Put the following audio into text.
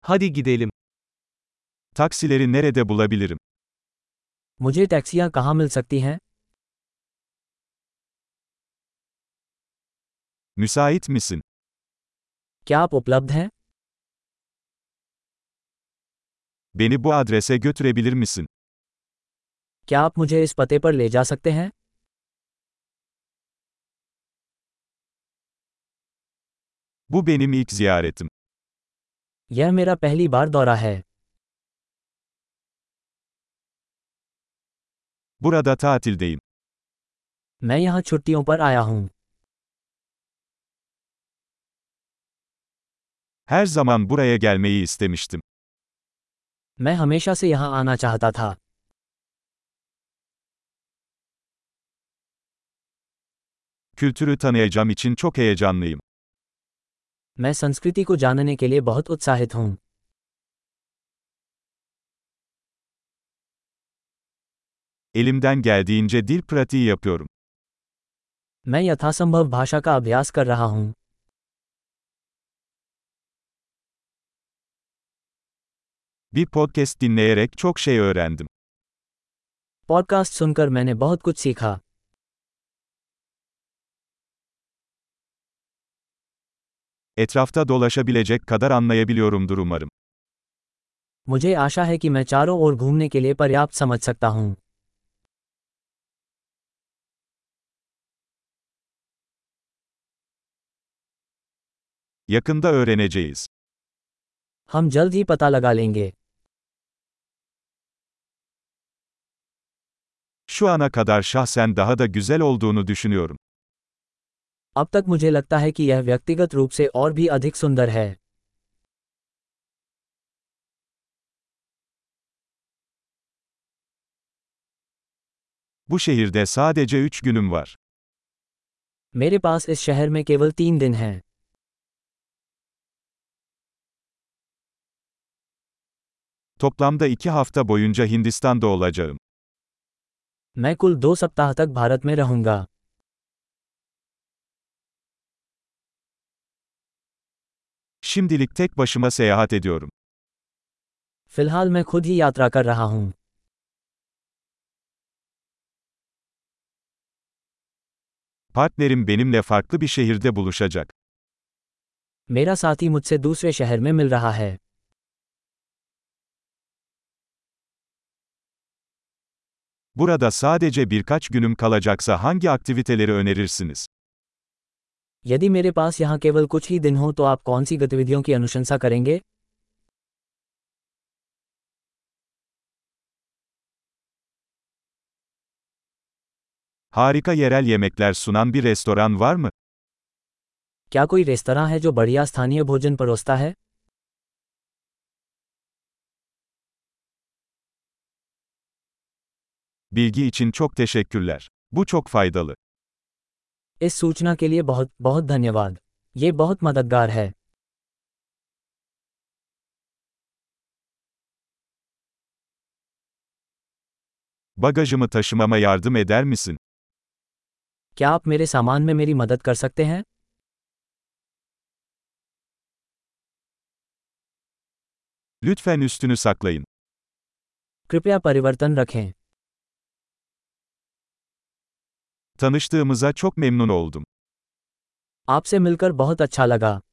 Hadi gidelim. Taksileri nerede bulabilirim? मुझे टैक्सियाँ कहाँ मिल सकती हैं? Müsait misin? क्या आप उपलब्ध हैं? Beni bu adrese götürebilir misin? क्या आप मुझे इस पते पर ले जा सकते हैं? Bu benim ilk ziyaretim. यह मेरा पहली बार दौरा है। Burada tatildeyim. मैं यहाँ छुट्टियों पर आया हूँ। Her zaman buraya gelmeyi istemiştim. मैं हमेशा से यहाँ आना चाहता था। Kültürü tanıyacağım için çok heyecanlıyım. मैं संस्कृति को जानने के लिए बहुत उत्साहित हूँ। Elimden geldiğince dil pratiği yapıyorum. मैं यथासंभव भाषा का अभ्यास कर रहा हूँ। Bir podcast dinleyerek çok şey öğrendim. Podcast सुनकर मैंने बहुत कुछ सीखा। Etrafta dolaşabilecek kadar anlayabiliyorumdur umarım. मुझे आशा है कि मैं चारों ओर घूमने के लिए पर्याप्त समझ सकता हूँ। Yakında öğreneceğiz. हम जल्द ही पता लगा लेंगे। Şu ana kadar şahsen daha da güzel olduğunu düşünüyorum. अब तक मुझे लगता है कि यह व्यक्तिगत रूप से और भी अधिक सुंदर है। Bu şehirde sadece 3 günüm var. मेरे पास इस शहर में केवल 3 दिन हैं। Toplamda 2 hafta boyunca Hindistan'da olacağım. मैं कुल 2 सप्ताह तक भारत में रहूंगा। Şimdilik tek başıma seyahat ediyorum. फिलहाल मैं खुद ही यात्रा कर रहा हूँ। Partnerim benimle farklı bir şehirde buluşacak. मेरा साथी मुझसे दूसरे शहर में मिल रहा है। Burada sadece birkaç günüm kalacaksa hangi aktiviteleri önerirsiniz? यदि मेरे पास यहाँ केवल कुछ ही दिन हो तो आप कौन सी गतिविधियों की अनुशंसा करेंगे? Harika yerel yemekler sunan bir restoran var mı? क्या कोई रेस्तरां है जो बढ़िया स्थानीय भोजन परोसता है? Bilgi için çok teşekkürler. Bu çok faydalı. इस सूचना के लिए बहुत बहुत धन्यवाद। ये बहुत मददगार है। Bagajımı taşımama yardım eder misin? क्या आप मेरे सामान में मेरी मदद कर सकते हैं? Lütfen üstünü saklayın. कृपया परिवर्तन रखें। Tanıştığımıza çok memnun oldum. आपसे मिलकर बहुत अच्छा लगा।